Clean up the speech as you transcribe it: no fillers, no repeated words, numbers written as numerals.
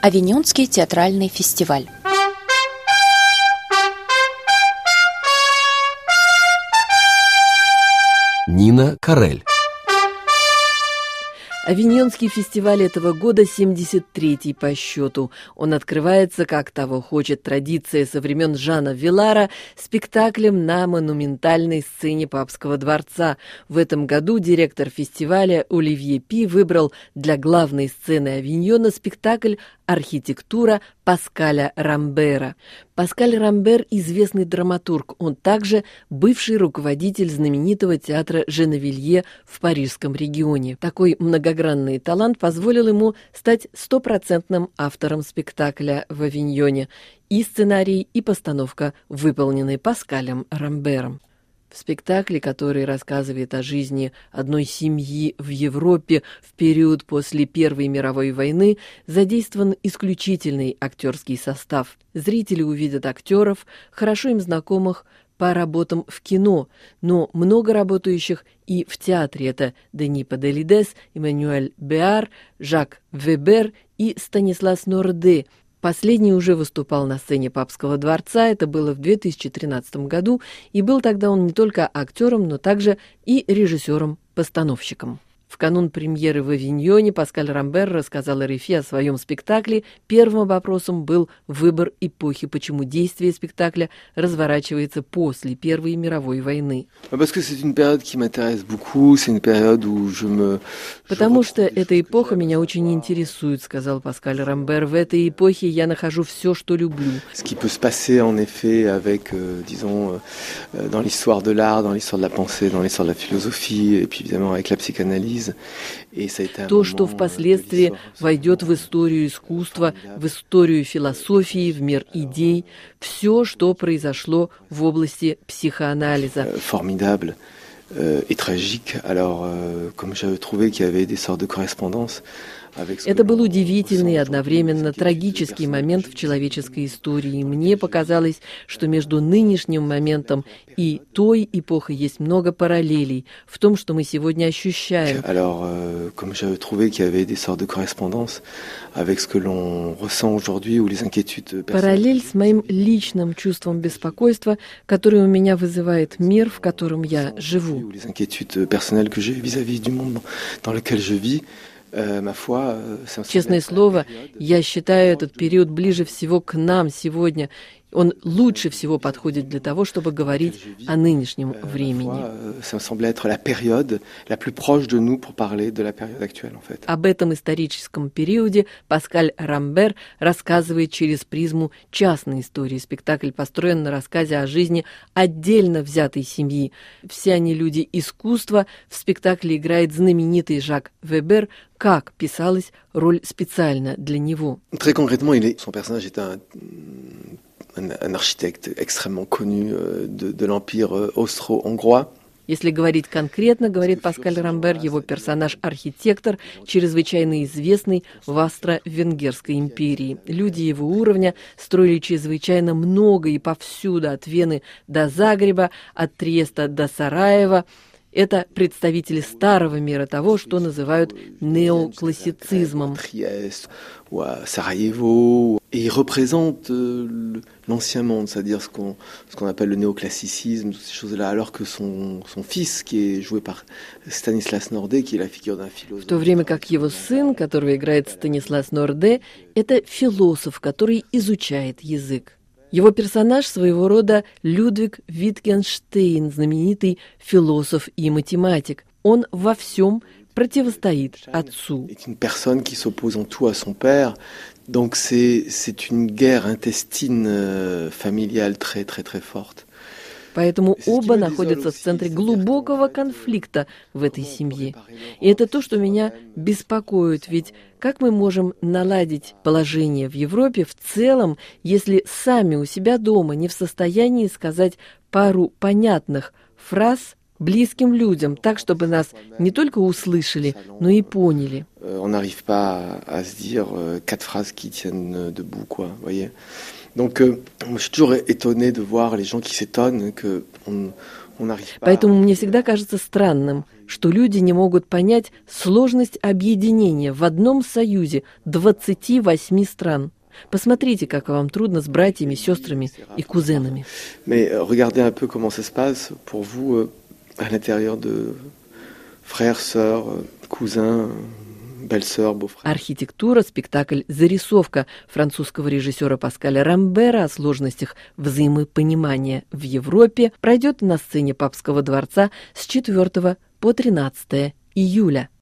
Авиньонский театральный фестиваль. Нина Карель. Авиньонский фестиваль этого года 73-й по счету. Он открывается, как того хочет традиция со времен Жана Вилара, спектаклем на монументальной сцене Папского дворца. В этом году директор фестиваля Оливье Пи выбрал для главной сцены Авиньона спектакль «Архитектура» Паскаля Рамбера. Паскаль Рамбер – известный драматург. Он также бывший руководитель знаменитого театра Женевилье в парижском регионе. Такой многогранный талант позволил ему стать стопроцентным автором спектакля в Авиньоне. И сценарий, и постановка выполнены Паскалем Рамбером. В спектакле, который рассказывает о жизни одной семьи в Европе в период после Первой мировой войны, задействован исключительный актерский состав. Зрители увидят актеров, хорошо им знакомых по работам в кино, но много работающих и в театре. Это Дени Паделидес, Эммануэль Беар, Жак Вебер и Станислас Норде. Последний уже выступал на сцене Папского дворца, это было в 2013 году, и был тогда он не только актером, но также и режиссером-постановщиком. В канун премьеры в Авиньоне Паскаль Рамбер рассказал РФИ о своем спектакле. Первым вопросом был выбор эпохи, почему действие спектакля разворачивается после Первой мировой войны. «Потому что эта эпоха меня очень интересует», — сказал Паскаль Рамбер. «В этой эпохе я нахожу все, что люблю». Dans l'histoire de l'art, dans l'histoire de la pensée, dans l'histoire de la philosophie, et puis évidemment avec la psychanalyse. То, что впоследствии войдет в историю искусства, в историю философии, в мир идей, все, что произошло в области психоанализа. Formidable et tragique. Alors, comme j'avais trouvé qu'il y avait des sortes de correspondances. Это был удивительный и одновременно трагический момент в человеческой истории. Мне показалось, что между нынешним моментом и той эпохой есть много параллелей в том, что мы сегодня ощущаем. Alors, comme j'avais trouvé qu'il y avait des sortes de correspondances avec ce que l'on ressent aujourd'hui ou les inquiétudes personnelles. Параллель с моим личным чувством беспокойства, которое у меня вызывает мир, в котором я живу. Les inquiétudes personnelles que j'ai vis-à-vis du monde dans lequel je vis. Честное слово, я считаю этот период ближе всего к нам сегодня. Он лучше всего подходит для того, чтобы говорить о нынешнем времени. Об этом историческом периоде Паскаль Рамбер рассказывает через призму частной истории. Спектакль построен на рассказе о жизни отдельно взятой семьи. Все они люди искусства. В спектакле играет знаменитый Жак Вебер. Как писалась роль специально для него? Très concrètement, son personnage est un architecte extrêmement connu de l'empire austro-hongrois. Если говорить конкретно, говорит Паскаль Рамбер, его персонаж – архитектор, чрезвычайно известный в Австро-Венгерской империи. Люди его уровня строили чрезвычайно много и повсюду, от Вены до Загреба, от Триеста до Сараева. Это представители старого мира, того, что называют неоклассицизмом. Et il représente l'ancien monde, c'est-à-dire ce qu'on appelle le néoclassicisme, toutes ces choses-là, alors que son fils, qui est joué par Stanislas Nordet, qui est la figure d'un philosophe. В то время как его сын, которого играет Станислас Норде, это философ, который изучает язык. Его персонаж своего рода Людвиг Витгенштейн, знаменитый философ и математик. Он во всем противостоит отцу. C'est une personne qui s'oppose en tout à son père. Donc c'est une guerre intestine familiale très très très forte. Поэтому оба находятся в центре глубокого конфликта в этой семье. И это то, что меня беспокоит. Ведь как мы можем наладить положение в Европе в целом, если сами у себя дома не в состоянии сказать пару понятных фраз близким людям, так, чтобы нас не только услышали, но и поняли. On n'arrive pas à se dire quatre phrases qui tiennent debout, quoi, voyez. Donc, moi, je suis toujours étonné de voir les gens qui s'étonnent qu'on Поэтому мне всегда кажется странным, что люди не могут понять сложность объединения в одном союзе 28 стран. Посмотрите, как вам трудно с братьями, сестрами и кузенами. Mais regardez un peu comment ça se passe pour vous à l'intérieur de frères, sœurs, cousins, belles-sœurs, beaux-frères. Архитектура, спектакль «Зарисовка» французского режиссера Паскаля Рамбера о сложностях взаимопонимания в Европе пройдет на сцене Папского дворца с 4 по 13 июля.